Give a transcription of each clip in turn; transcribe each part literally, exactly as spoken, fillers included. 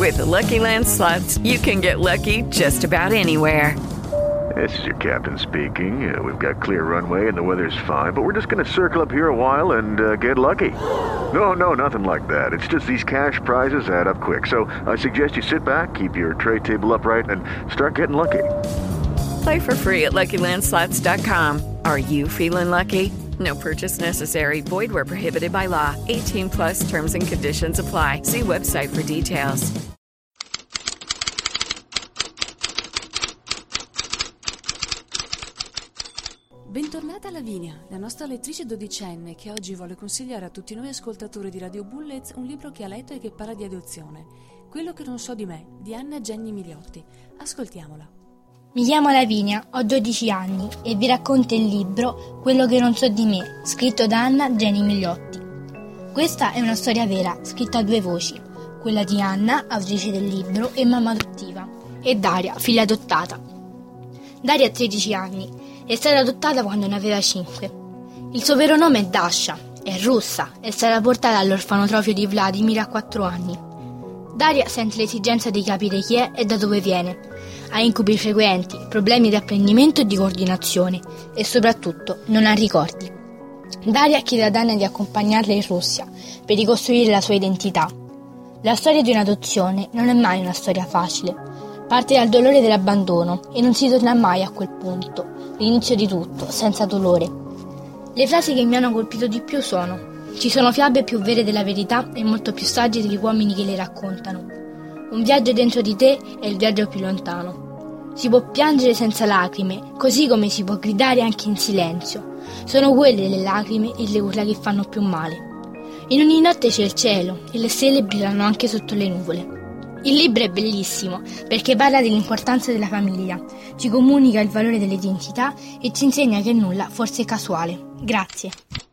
With the Lucky Land Slots, you can get lucky just about anywhere. This is your captain speaking. Uh, we've got clear runway and the weather's fine, but we're just going to circle up here a while and uh, get lucky. No, no, nothing like that. It's just these cash prizes add up quick. So I suggest you sit back, keep your tray table upright, and start getting lucky. Play for free at Lucky Land Slots dot com. Are you feeling lucky? No purchase necessary. Void where prohibited by law. eighteen plus terms and conditions apply. See website for details. Bentornata Lavinia, la nostra lettrice dodicenne che oggi vuole consigliare a tutti noi ascoltatori di Radio Bullets un libro che ha letto e che parla di adozione. Quello che non so di me, di Anna Jenny Migliotti. Ascoltiamola. Mi chiamo Lavinia, ho dodici anni e vi racconto il libro Quello che non so di me, scritto da Anna Jenny Migliotti. Questa è una storia vera, scritta a due voci, quella di Anna, autrice del libro e mamma adottiva, e Daria, figlia adottata. Daria ha tredici anni, è stata adottata quando ne aveva cinque. Il suo vero nome è Dasha, è russa, è stata portata all'orfanotrofio di Vladimir a quattro anni. Daria sente l'esigenza di capire chi è e da dove viene. Ha incubi frequenti, problemi di apprendimento e di coordinazione e soprattutto non ha ricordi. Daria chiede ad Anna di accompagnarla in Russia per ricostruire la sua identità. La storia di un'adozione non è mai una storia facile. Parte dal dolore dell'abbandono e non si torna mai a quel punto, l'inizio di tutto, senza dolore. Le frasi che mi hanno colpito di più sono: ci sono fiabe più vere della verità e molto più sagge degli uomini che le raccontano. Un viaggio dentro di te è il viaggio più lontano. Si può piangere senza lacrime, così come si può gridare anche in silenzio. Sono quelle le lacrime e le urla che fanno più male. In ogni notte c'è il cielo e le stelle brillano anche sotto le nuvole. Il libro è bellissimo perché parla dell'importanza della famiglia, ci comunica il valore dell'identità e ci insegna che nulla forse è casuale. Grazie.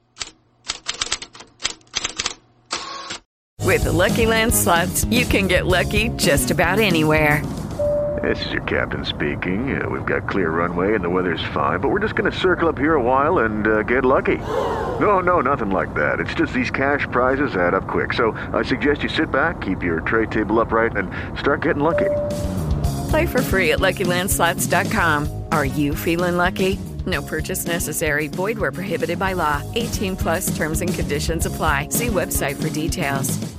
With the Lucky Land Slots, you can get lucky just about anywhere. This is your captain speaking. Uh, we've got clear runway and the weather's fine, but we're just going to circle up here a while and uh, get lucky. No, no, nothing like that. It's just these cash prizes add up quick. So I suggest you sit back, keep your tray table upright, and start getting lucky. Play for free at Lucky Land Slots dot com. Are you feeling lucky? No purchase necessary. Void where prohibited by law. eighteen plus terms and conditions apply. See website for details.